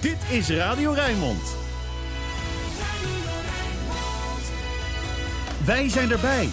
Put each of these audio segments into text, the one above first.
Dit is Radio Rijnmond. Wij zijn erbij.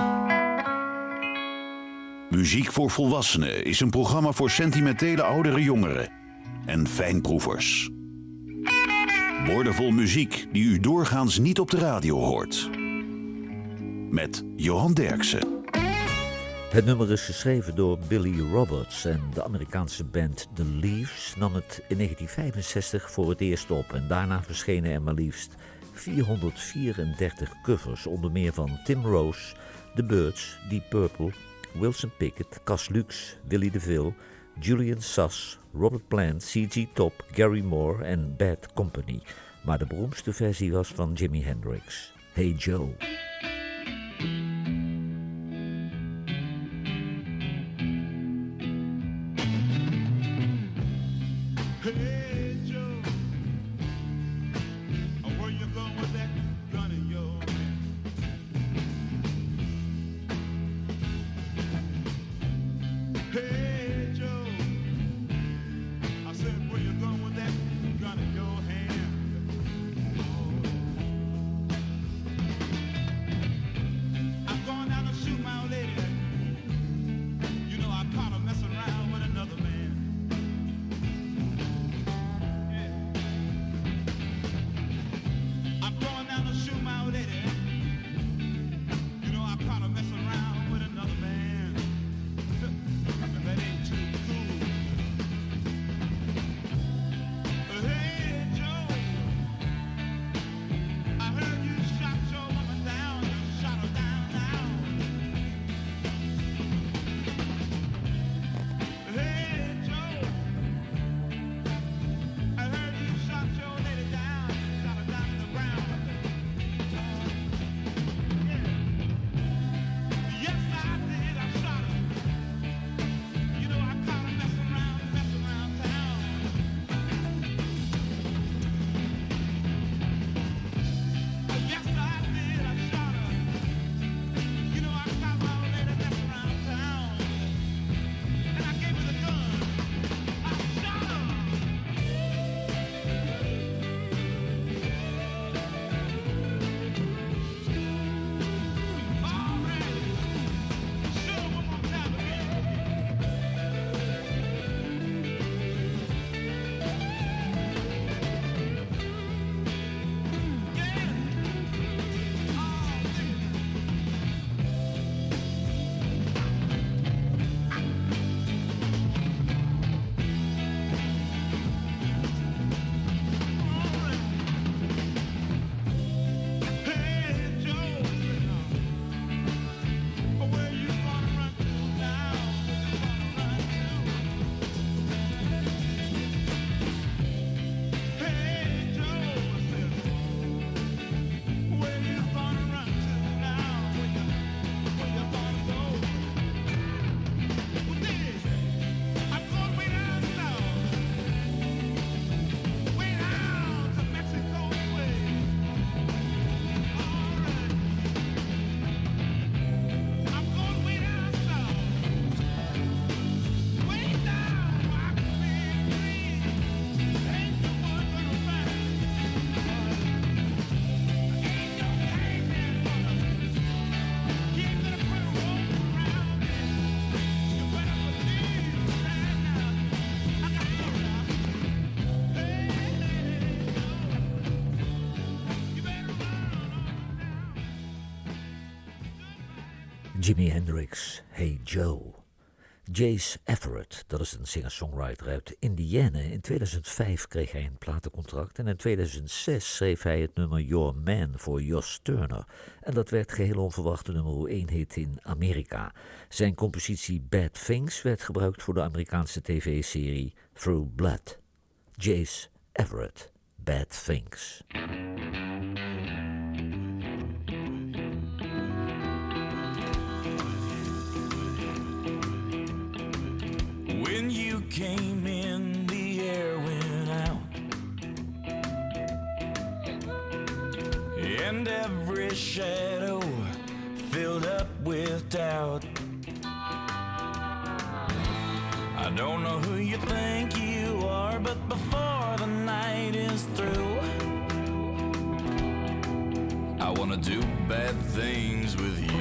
Muziek voor Volwassenen is een programma voor sentimentele oudere jongeren en fijnproevers. Woordenvol muziek die u doorgaans niet op de radio hoort. Met Johan Derksen. Het nummer is geschreven door Billy Roberts en de Amerikaanse band The Leaves nam het in 1965 voor het eerst op en daarna verschenen er maar liefst 434 covers, onder meer van Tim Rose, The Byrds, Deep Purple, Wilson Pickett, Cas Lux, Willie DeVille, Julian Sass, Robert Plant, C.G. Top, Gary Moore en Bad Company. Maar de beroemdste versie was van Jimi Hendrix, Hey Joe. Jimi Hendrix, Hey Joe. Jace Everett, dat is een singer-songwriter uit Indiana. In 2005 kreeg hij een platencontract en in 2006 schreef hij het nummer Your Man voor Josh Turner. En dat werd geheel onverwacht de nummer 1 hit in Amerika. Zijn compositie Bad Things werd gebruikt voor de Amerikaanse tv-serie Through Blood. Jace Everett, Bad Things. When you came in, the air went out, and every shadow filled up with doubt. I don't know who you think you are, but before the night wanna do bad things with you.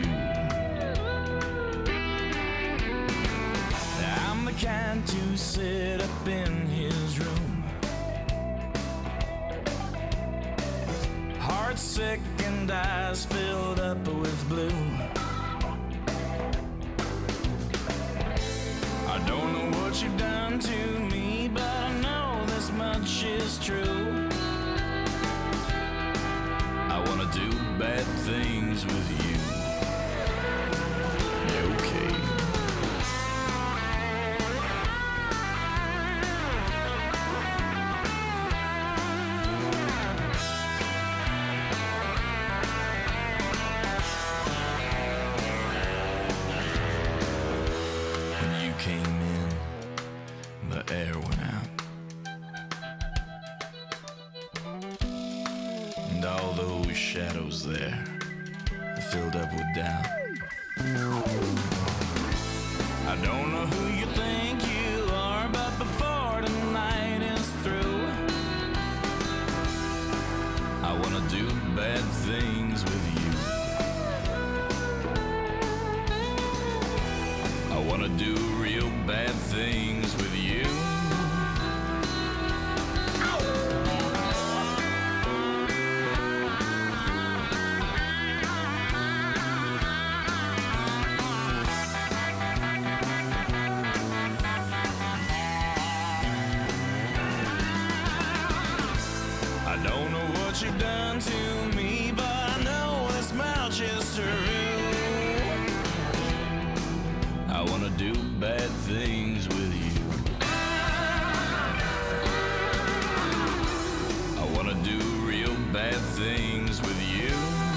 I'm the kind to sit up in his room, heart sick and eyes filled up with blue. I don't know what you've done to me, but I know this much is true. I wanna do bad things with you. You okay? When you came in, the air went out, and all those shadows there filled up with doubt. I don't know who you think you are, but before tonight is through, I wanna do bad things with you. I wanna do real bad things with you. I don't know what you've done to me, but I know this much is true. I wanna do bad things with you. I wanna do real bad things with you.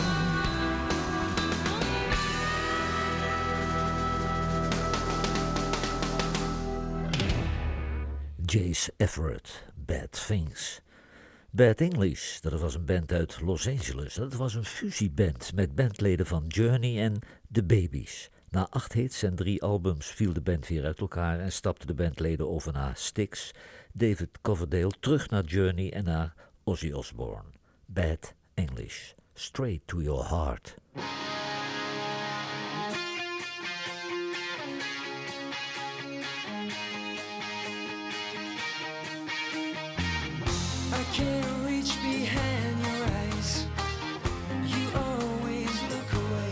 Jace Everett, Bad Things. Bad English, dat was een band uit Los Angeles. Dat was een fusieband met bandleden van Journey en The Babies. Na 8 hits en 3 albums viel de band weer uit elkaar en stapten de bandleden over naar Styx, David Coverdale, terug naar Journey en naar Ozzy Osbourne. Bad English, Straight to Your Heart. I can't reach behind your eyes. You always look away.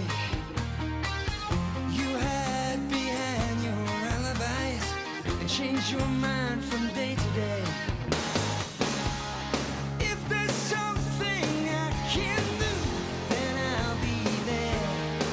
You hide behind your alibis and change your mind from day to day. If there's something I can do, then I'll be there.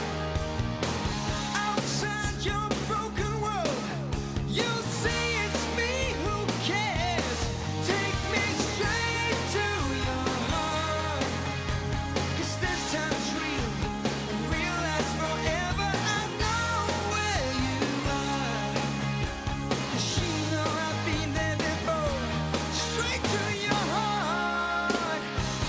Outside your broken world, you'll say it's me who cares. Take me straight to your heart, 'cause this time's real and real lasts forever. I know where you are, 'cause you know I've been there before. Straight to your heart.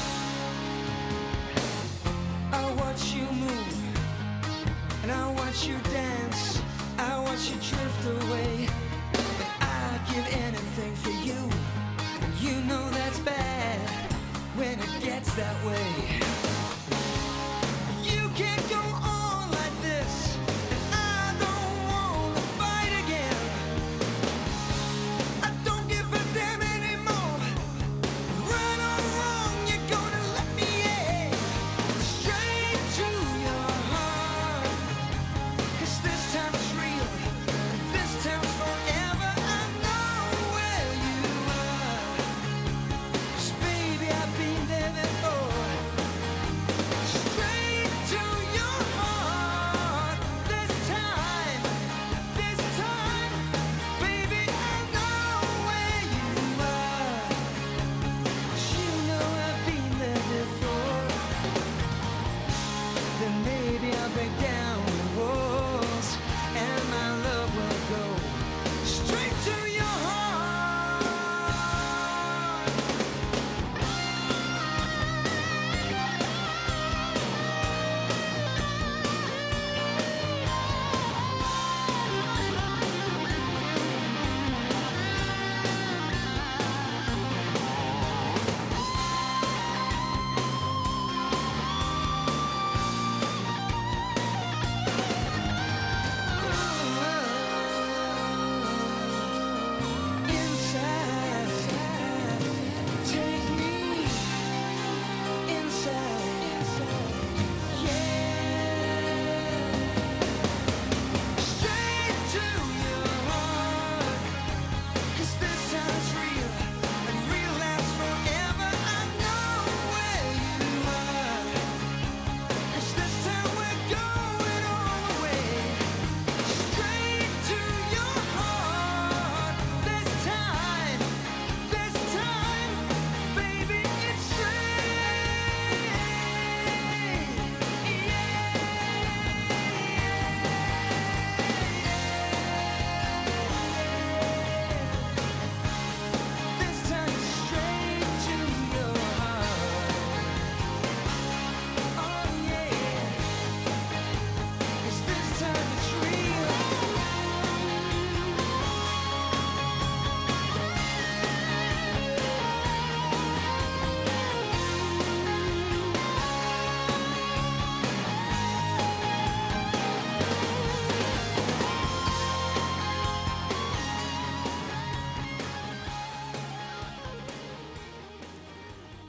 I watch you move and I watch you dance. I watch you drift away, and I'd give anything for you. You know that's bad when it gets that way. You can't go on like this, and I don't want to fight again. I don't give a damn anymore. Right or wrong, you're gonna let me in. Straight to your heart, 'cause this time's real, this time's forever. I know where you are, 'cause baby I've been there before.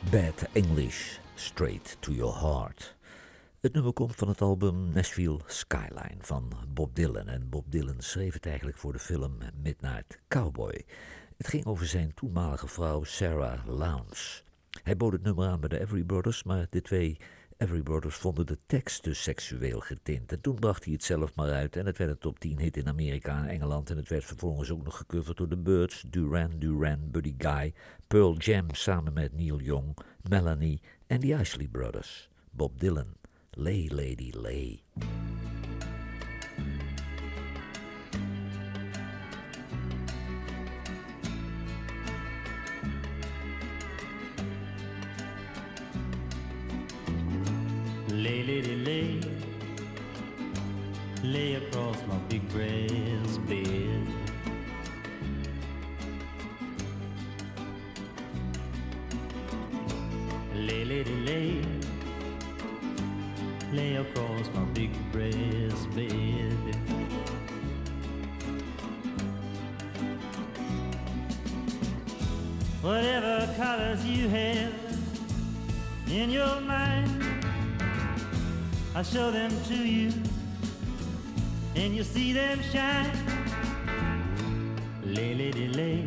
Bad English, Straight to Your Heart. Het nummer komt van het album Nashville Skyline van Bob Dylan. En Bob Dylan schreef het eigenlijk voor de film Midnight Cowboy. Het ging over zijn toenmalige vrouw Sarah Lowndes. Hij bood het nummer aan bij de Everly Brothers, maar de twee Everly Brothers vonden de tekst te seksueel getint. En toen bracht hij het zelf maar uit en het werd een top 10 hit in Amerika en Engeland. En het werd vervolgens ook nog gecoverd door de Byrds, Duran Duran, Buddy Guy, Pearl Jam samen met Neil Young, Melanie en de Isley Brothers. Bob Dylan, Lay Lady Lay. Lay, lady, lay, lay across my big brass bed. Lay, lady, lay, lay across my big brass bed. Whatever colors you have in your mind, I'll show them to you, and you'll see them shine. Lay, lady, lay,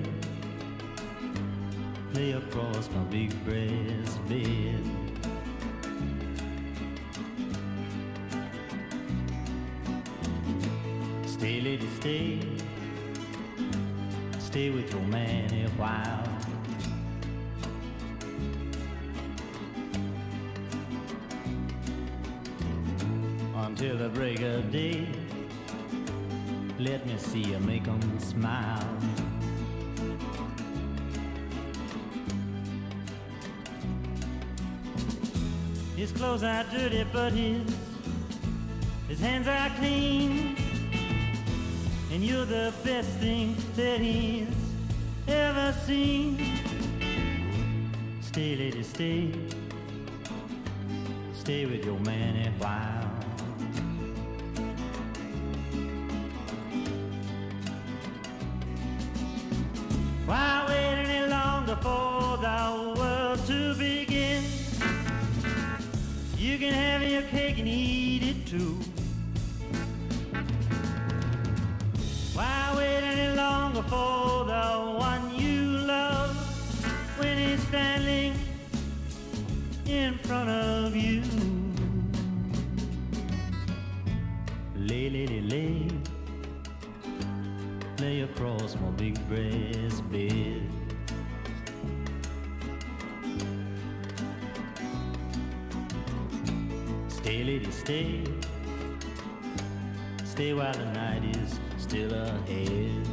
lay across my big brass bed. Stay, lady, stay, stay with your man a while. Until the break of day, let me see you make 'em smile. His clothes are dirty, but his hands are clean, and you're the best thing that he's ever seen. Stay, lady, stay, stay with your man a while. Why wait any longer for the world to begin? You can have your cake and eat it too. Why wait any longer for the one you love when he's standing in front of you? Lay, lady, lay, lay across my big brass bed. Stay, lady, stay, stay while the night is still ahead.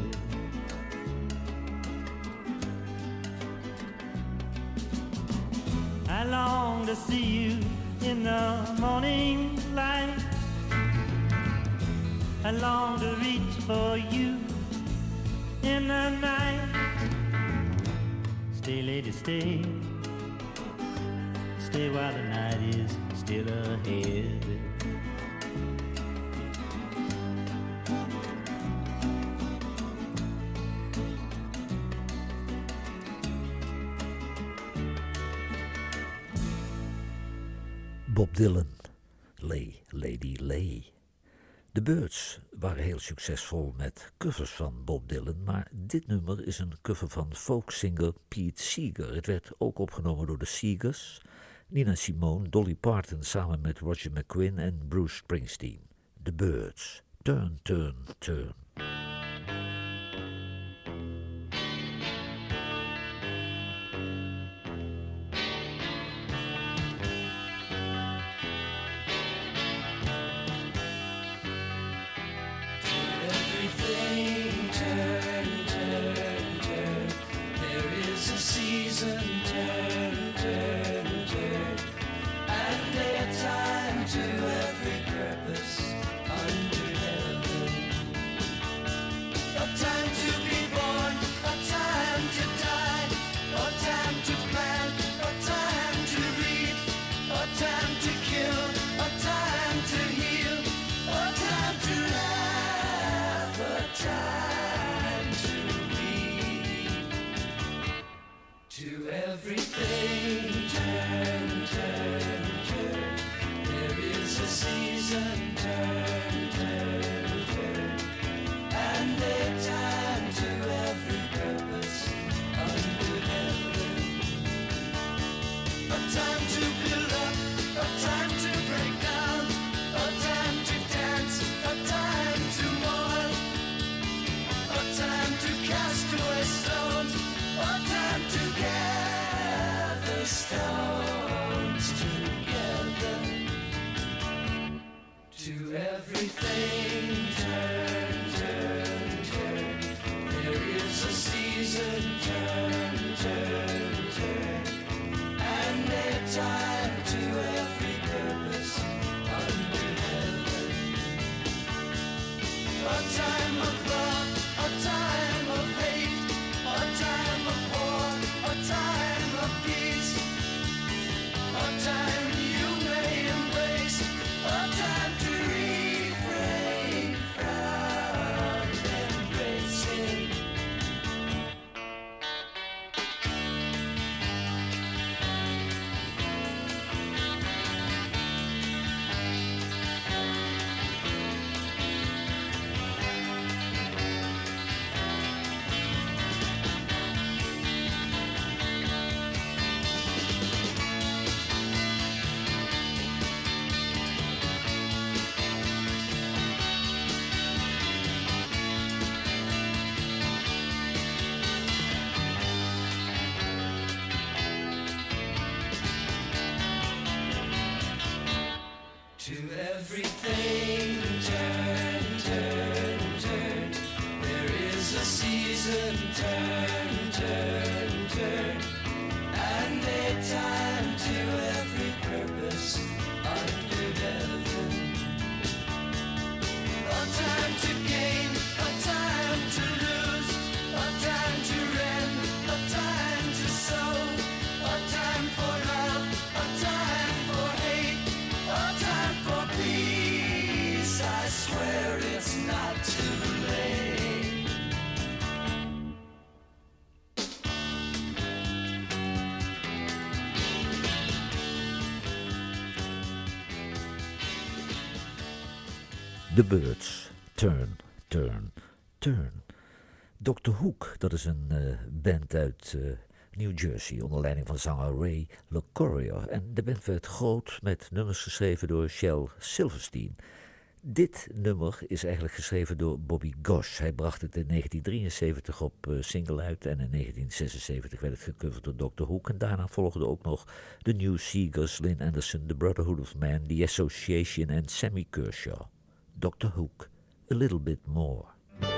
I long to see you in the morning light. I long to reach for you in the night. Stay, lady, stay, stay while the night is still ahead. Bob Dylan, Lay, Lady, Lay. De Byrds waren heel succesvol met covers van Bob Dylan, maar dit nummer is een cover van folksinger Pete Seeger. Het werd ook opgenomen door de Seegers, Nina Simone, Dolly Parton samen met Roger McGuinn en Bruce Springsteen. De Byrds, Turn, Turn, Turn. Everything turn, turn, turn. There is a season, turn, turn, turn. And a time to every purpose under heaven. A time to be born, a time to die, a time to plant, a time to reap, a time to kill, a time to heal, a time to laugh, a time to weep. To every everything turn, turn, turn. There is a season, turn, turn, turn. And a time to every purpose under heaven. A time to build up, a time to break down, a time to dance, a time to mourn, a time to cast away stones, a time to gather stones together. To everything turn, turn, turn. There is a season, turn, turn, turn. And a time to every purpose under heaven. A time of love, a time of hate, a time of war, a time of peace, a time you may embrace, a time to refrain from embracing. To everything turn, turn, turn. There is a season, turn, turn, turn. And a time to every purpose under heaven. A time to gain, a time to lose, a time to rend, a time to sow, a time for love, a time for hate, a time for peace. I swear it's not too late. The Birds, Turn, Turn, Turn. Dr. Hook, dat is een band uit New Jersey onder leiding van zanger Ray LaCourier. En de band werd groot met nummers geschreven door Shel Silverstein. Dit nummer is eigenlijk geschreven door Bobby Gosh. Hij bracht het in 1973 op single uit en in 1976 werd het gecoverd door Dr. Hook. En daarna volgden ook nog The New Seegers, Lynn Anderson, The Brotherhood of Man, The Association en Sammy Kershaw. Dr. Hook, A Little Bit More.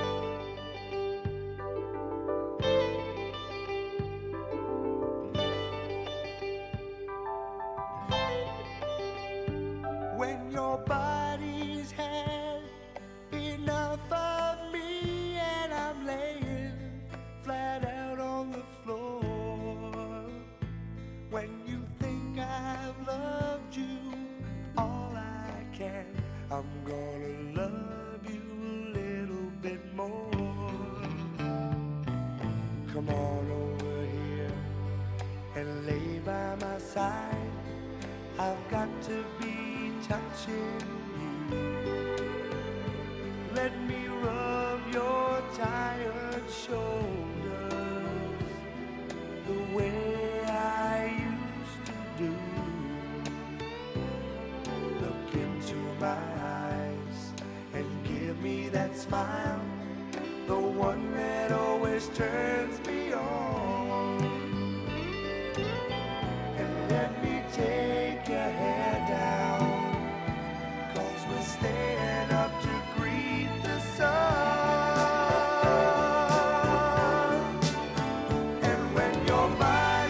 When your body's had enough of me and I'm laying flat out on the floor. When you think I've loved you all I can, I'm gonna love you a little bit more. Come on over here and lay by my side. I've got to be touching you. Let me rub your tired shoulders the way I used to do. Look into my eyes and give me that smile, the one that always turns me on. And let me take your hair down, 'cause we're staying up to greet the sun. And when your body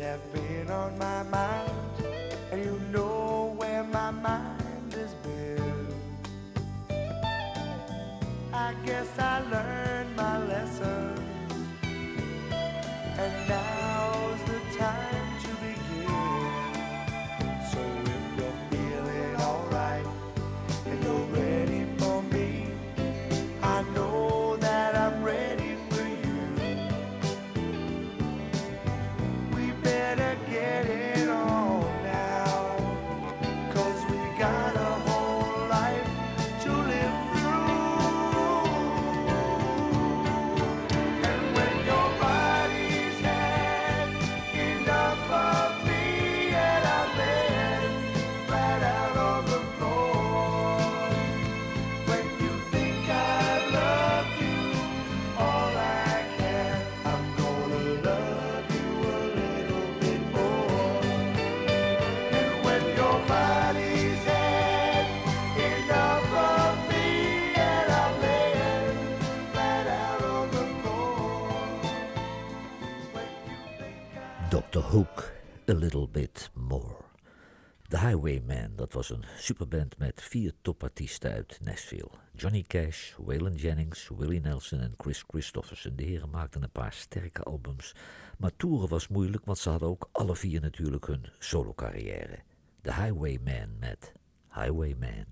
have been on my mind, and you know where my mind has been. I guess I learned my lesson, and now's the time to begin. So if you're feeling alright and you're ready for me, I know that I'm ready for you. We better get it on now, 'cause we got a whole life to live through. And when your body's had enough of me and I'm laying flat out on the floor, when you think I've loved you all I can, I'm gonna love you a little bit more. And when your body's had enough of me and I'm laying flat out on the floor, when you think Dr. Hook, A Little Bit More. The Highwaymen, dat was een superband met 4 topartiesten uit Nashville. Johnny Cash, Waylon Jennings, Willie Nelson en Chris Christopherson. De heren maakten een paar sterke albums. Maar toeren was moeilijk, want ze hadden ook alle 4 natuurlijk hun solo-carrière. The Highwaymen met Highwayman.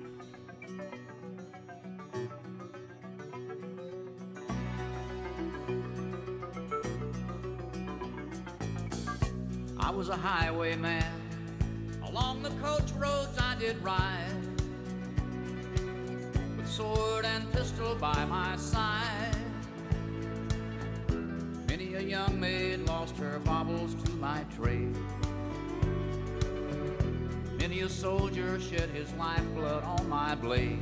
I was a highwayman. Along the coach roads I did ride, with sword and pistol by my side. Many a young maid lost her baubles to my trade. Many a soldier shed his lifeblood on my blade.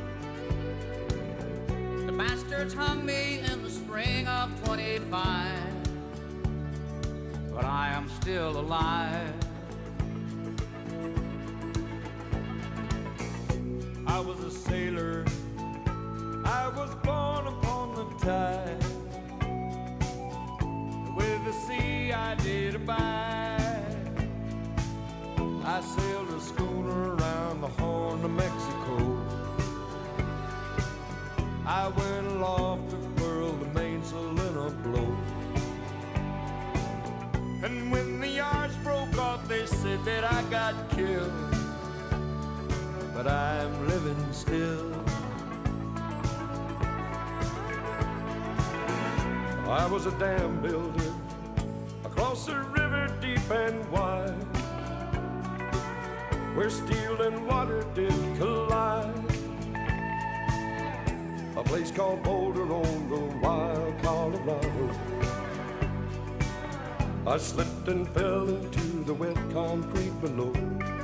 The bastards hung me in the spring of 25, but I am still alive. I was a sailor, I was born upon the tide. With the sea I did abide. I sailed a schooner around the Horn of Mexico. I went aloft to furl the mainsail in a blow. And when the yards broke off, they said that I got killed. But I'm living still. I was a dam builder across a river deep and wide, where steel and water did collide. A place called Boulder on the wild Colorado. I slipped and fell into the wet concrete below.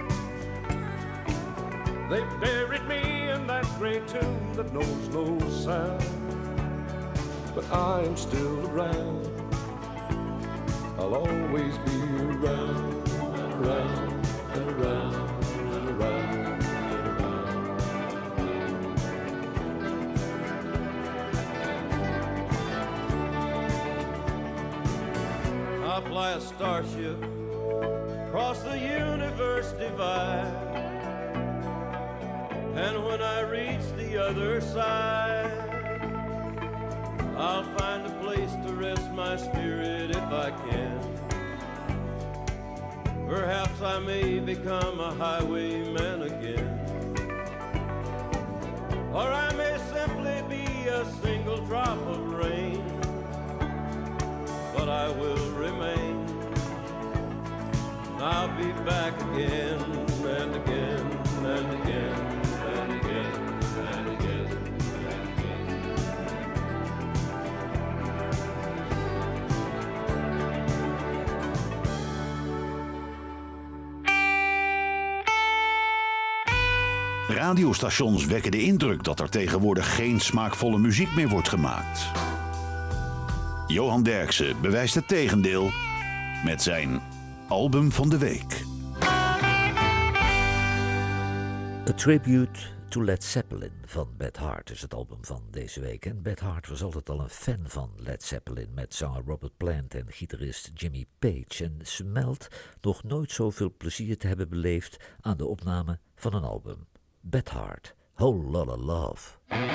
They buried me in that great tomb that knows no sound. But I am still around. I'll always be around, around, and around, and around, and around. I fly a starship across the universe divide. And when I reach the other side, I'll find a place to rest my spirit if I can. Perhaps I may become a highwayman again. Or I may simply be a single drop of rain. But I will remain. I'll be back again and again and again. And again, and again, and again. Radiostations wekken de indruk dat er tegenwoordig geen smaakvolle muziek meer wordt gemaakt. Johan Derksen bewijst het tegendeel met zijn album van de week. A Tribute To Led Zeppelin van Beth Hart is het album van deze week. En Beth Hart was altijd al een fan van Led Zeppelin met zanger Robert Plant en gitarist Jimmy Page. En ze meldt nog nooit zoveel plezier te hebben beleefd aan de opname van een album. Beth Hart, Whole Lotta Love.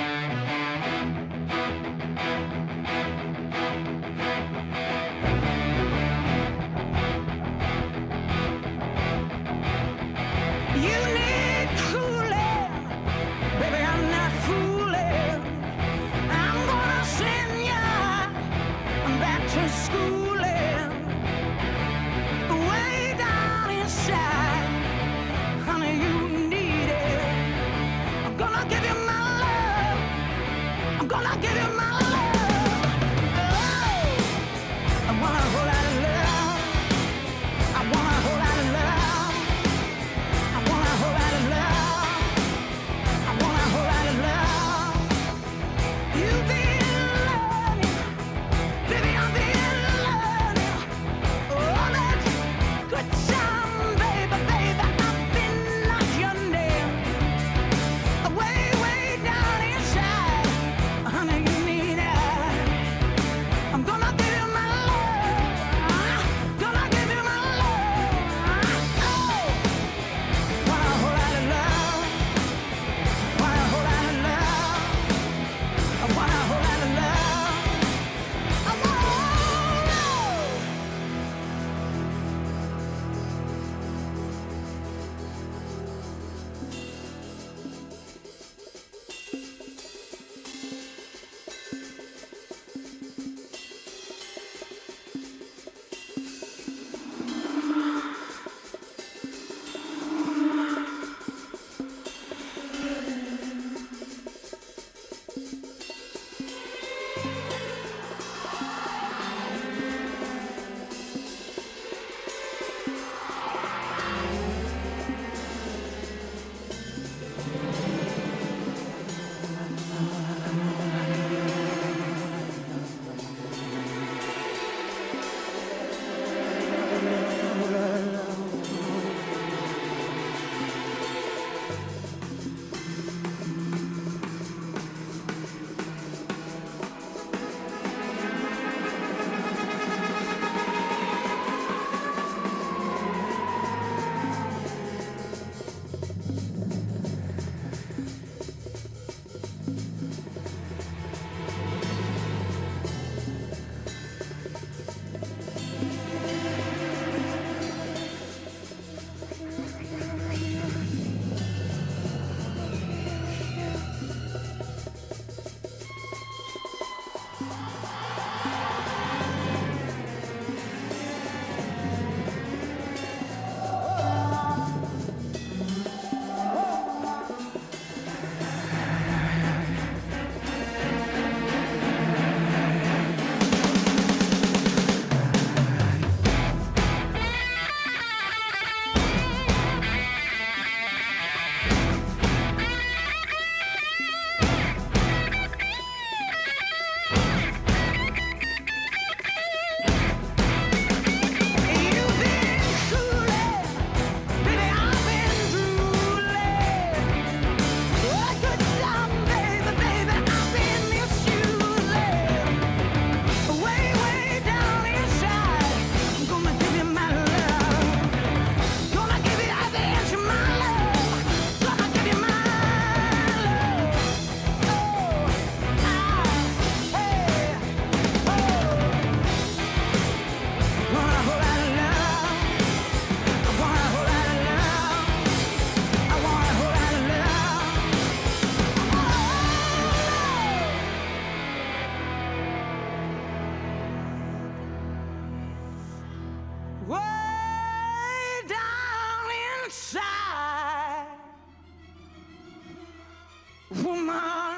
Woman,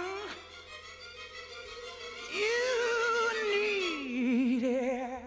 you need it.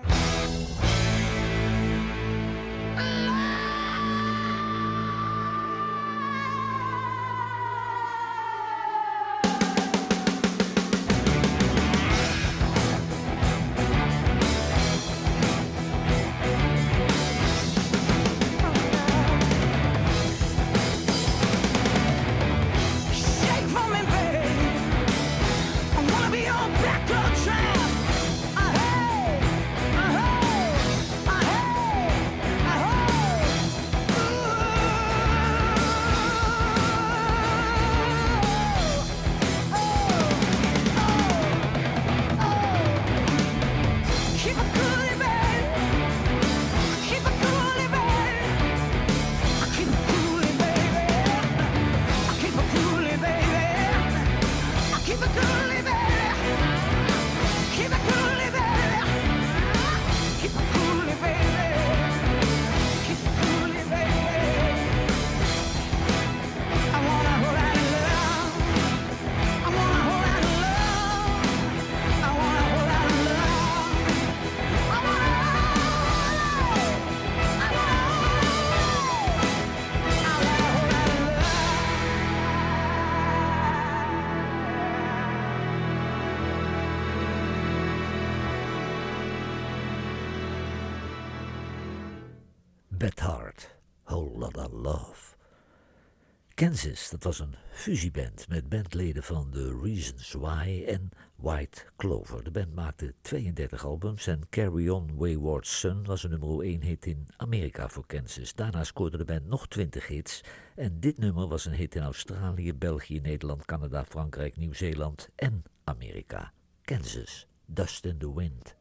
Beth Hart, Whole Lotta Love. Kansas, dat was een fusieband met bandleden van The Reasons Why en White Clover. De band maakte 32 albums en Carry On Wayward Son was een nummer 1 hit in Amerika voor Kansas. Daarna scoorde de band nog 20 hits en dit nummer was een hit in Australië, België, Nederland, Canada, Frankrijk, Nieuw-Zeeland en Amerika. Kansas, Dust in the Wind.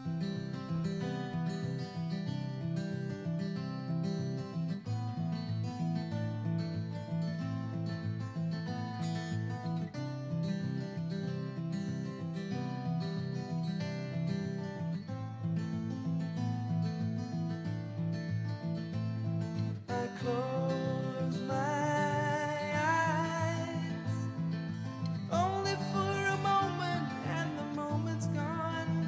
Close my eyes, only for a moment, and the moment's gone.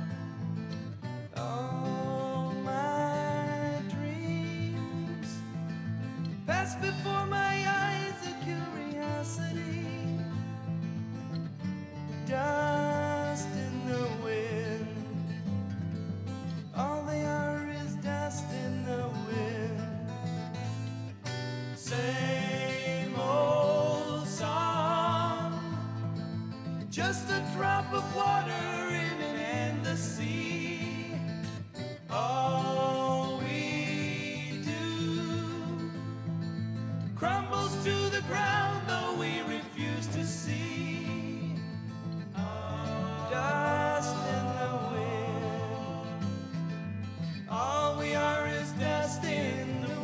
All my dreams pass before my eyes, a curiosity, dust in the wind. All they are is dust in the wind. Same old song, just a drop of water in an endless sea. All we do crumbles to the ground, though we refuse to see. Dust in the wind. All we are is dust in the wind.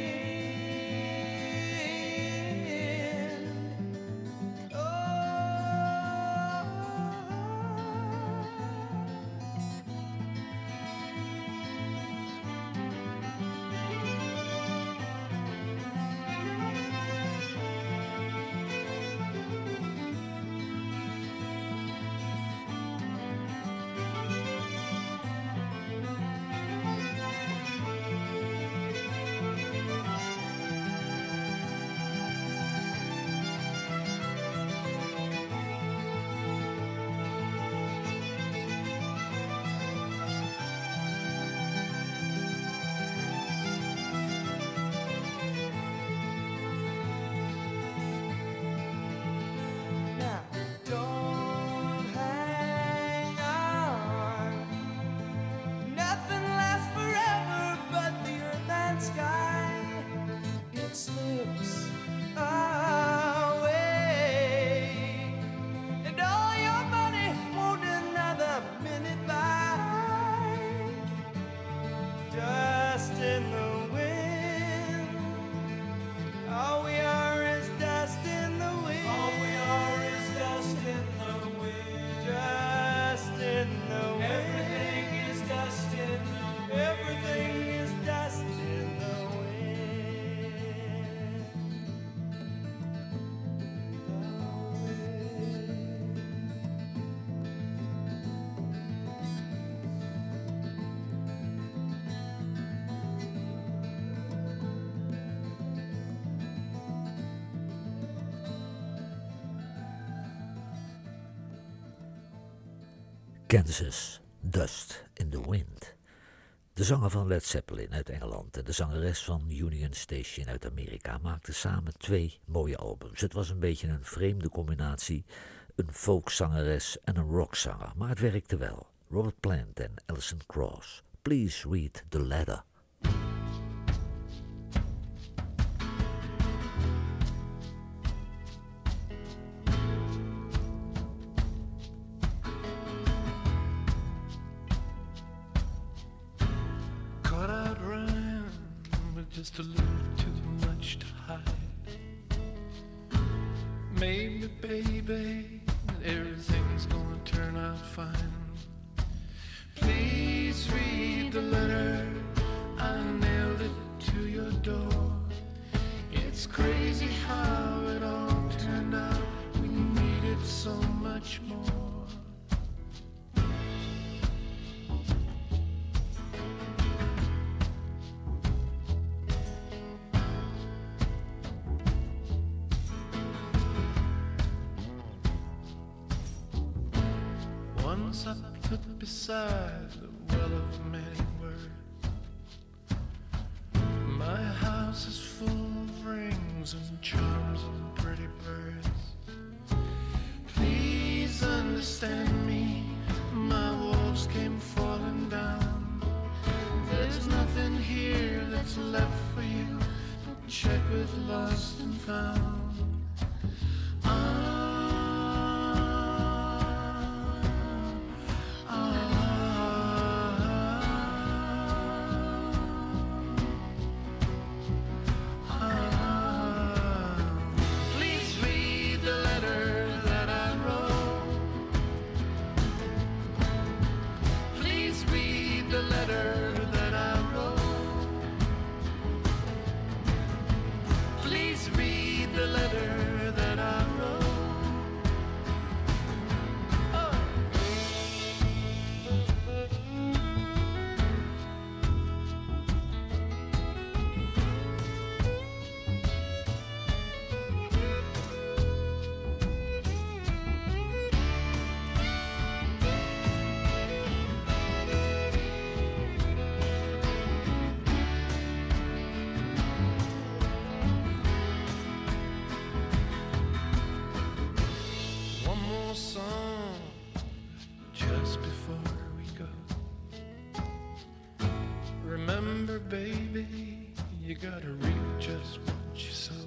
Kansas, Dust in the Wind. De zanger van Led Zeppelin uit Engeland en de zangeres van Union Station uit Amerika maakten samen 2 mooie albums. Het was een beetje een vreemde combinatie, een folkzangeres en een rockzanger, maar het werkte wel. Robert Plant en Alison Krauss. Please read the letter. Just a little too much to hide. Maybe, baby, everything's gonna turn out fine. Please read the letter. I nailed it to your door. It's crazy how it all turned out. We needed so much more. Once I put beside the well of many words my rings and charms and pretty birds. Please understand me, my walls came falling down. There's nothing here that's left for you. Check with lost and found. Please read the letter that I wrote. Please read the letter that I wrote. Please read the letter that I wrote. One more song just before we go. Remember, baby, you gotta reap just what you sow.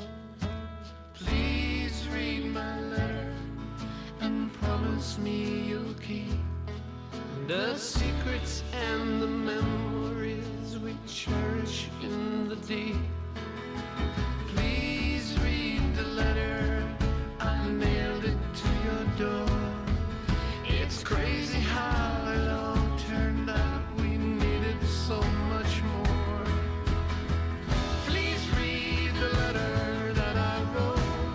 Please read my letter and promise me you'll keep the secrets and the memories we cherish in the deep. Please read the letter, I nailed it to your door. It's crazy how it all turned out. We needed so much more. Please read the letter that I wrote.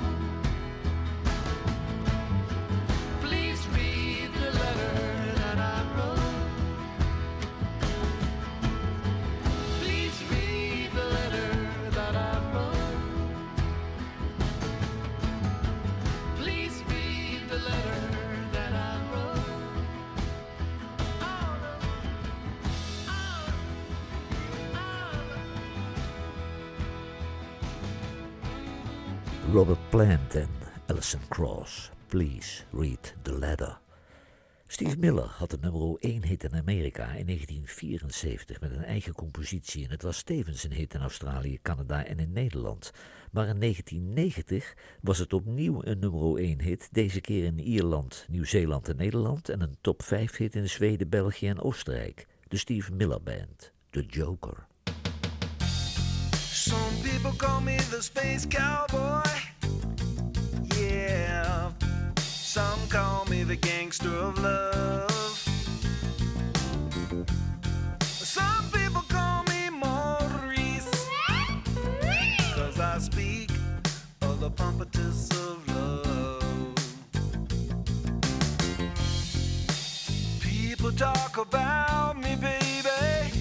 Please read the letter that I wrote. Please read the letter that I wrote. Please read the letter that I wrote. Robert Plant en Alison Krauss. Please read the letter. Steve Miller had de nummer 1 hit in Amerika in 1974 met een eigen compositie en het was tevens een hit in Australië, Canada en in Nederland. Maar in 1990 was het opnieuw een nummer 1 hit, deze keer in Ierland, Nieuw-Zeeland en Nederland en een top 5 hit in Zweden, België en Oostenrijk. De Steve Miller Band, The Joker. Some people call me the space cowboy. Yeah. Some call me the gangster of love. Some people call me Maurice, 'cause I speak of the pompatus of love. People talk about me, baby.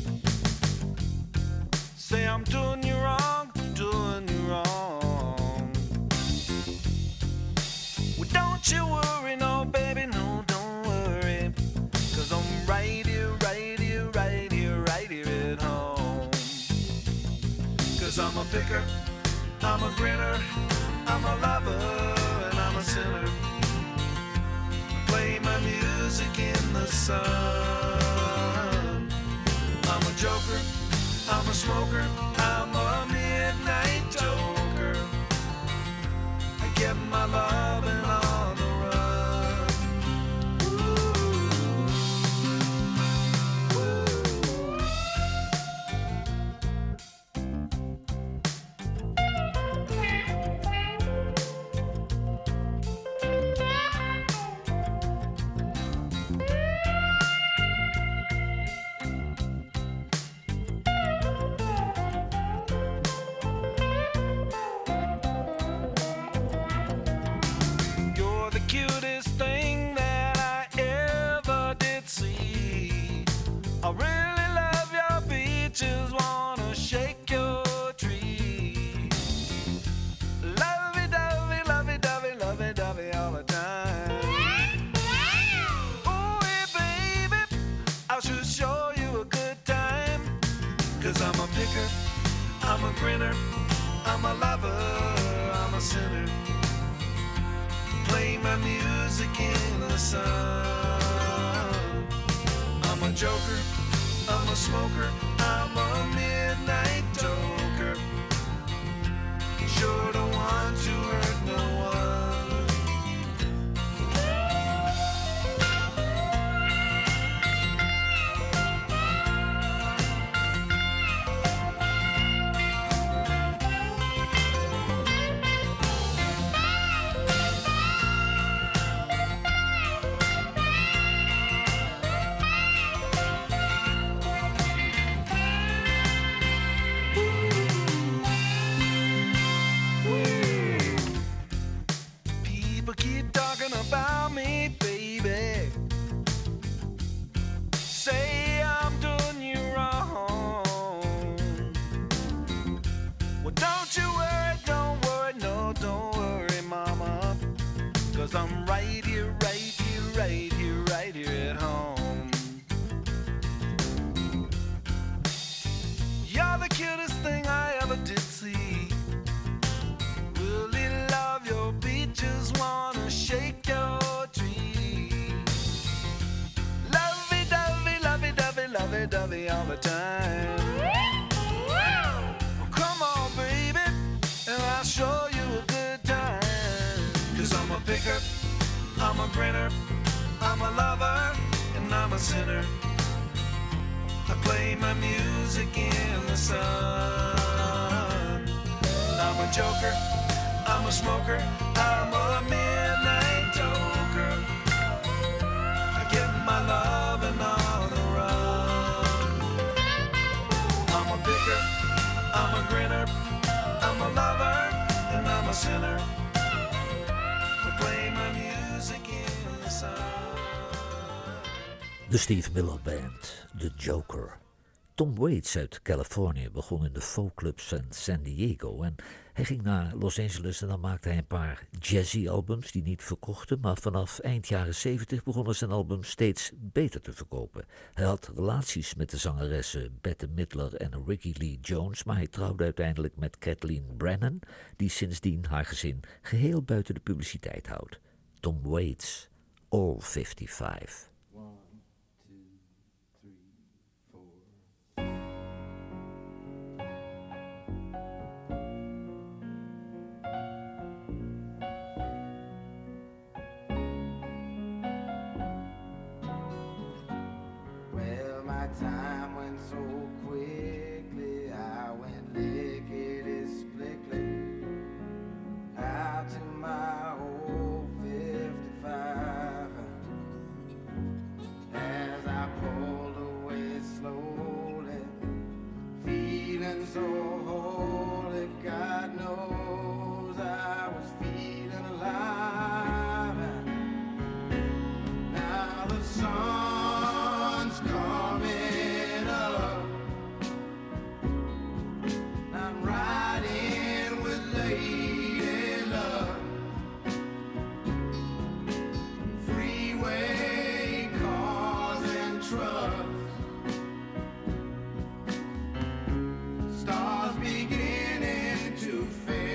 Say I'm doing you wrong, doing you wrong. Well, don't you worry, no, baby, no, don't worry. 'Cause I'm right here, right here, right here, right here at home. 'Cause I'm a picker, I'm a grinner, I'm a lover, and I'm a sinner. Play my music in the sun. I'm a joker, I'm a smoker, I'm a midnight toker. I get my loving on the run. You're the cutest thing that I ever did see. I really love your beaches, wanna shake your tree. Lovey-dovey, lovey-dovey, lovey-dovey all the time. Ooh, hey, baby, I should show you a good time. 'Cause I'm a picker, I'm a grinner, I'm a lover, I'm a sinner. Play my music in the sun. I'm a joker, I'm a smoker, I'm a midnight toker. Sure don't want to hurt no one. People keep talking about me, baby. Say I'm doing you wrong. Well, don't you worry, no, don't worry, mama. 'Cause I'm right here, right here, right here, right here at home. You're the cutest thing I ever did see. Really love your beat, just wanna shake your tree. Lovey-dovey, lovey-dovey, lovey-dovey all the time. Well, come on, baby, and I'll show you a good time. 'Cause I'm a picker, I'm a grinner, I'm a lover, and I'm a sinner. I play my music in the sun. I'm a joker, I'm a smoker, I'm a midnight toker. I get my loving on the run. I'm a picker, I'm a grinner, I'm a lover, and I'm a sinner. I play my music in the sun. De Steve Miller Band, The Joker. Tom Waits uit Californië begon in de folkclubs van San Diego en hij ging naar Los Angeles en dan maakte hij een paar jazzy-albums die niet verkochten, maar vanaf eind jaren 70 begonnen zijn albums steeds beter te verkopen. Hij had relaties met de zangeressen Bette Midler en Ricky Lee Jones, maar hij trouwde uiteindelijk met Kathleen Brennan, die sindsdien haar gezin geheel buiten de publiciteit houdt. Tom Waits, All 55. Time went so quickly, I went lickety-splickly out to my old 55. As I pulled away slowly, feeling so holy, God knows I was feeling alive. Now the sun's coming. Stars beginning to fade.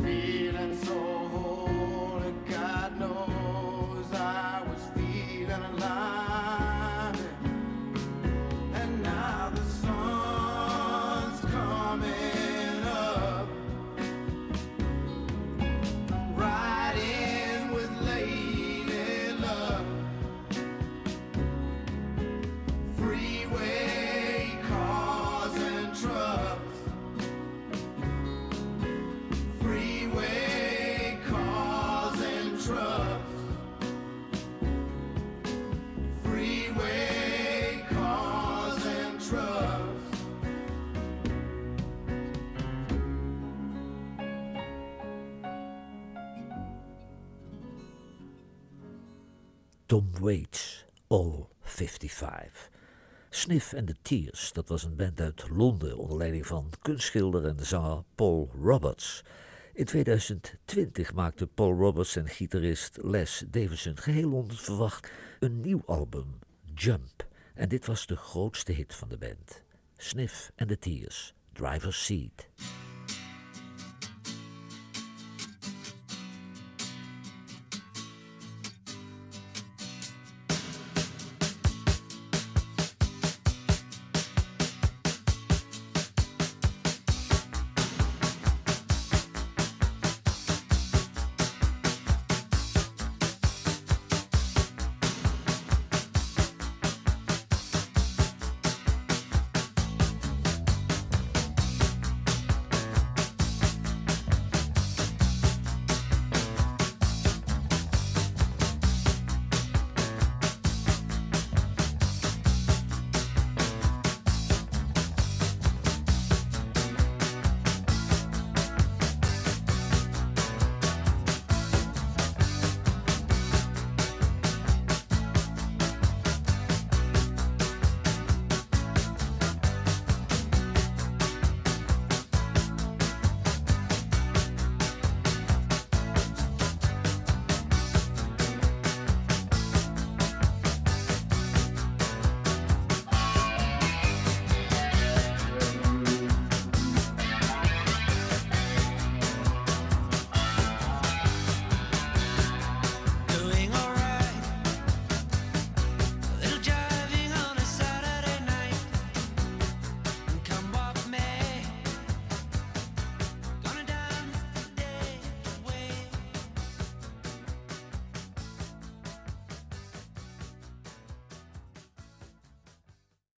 feeling so holy, God knows I was feeling alive. And now the sun's coming up, riding with lady love. Freeway cars and trucks, freeway cars and trucks, freeway cars and trucks. Tom Waits, All 55. Sniff and the Tears, dat was een band uit Londen onder leiding van kunstschilder en zanger Paul Roberts. In 2020 maakte Paul Roberts en gitarist Les Davison geheel onverwacht een nieuw album, Jump. En dit was de grootste hit van de band. Sniff and the Tears, Driver's Seat.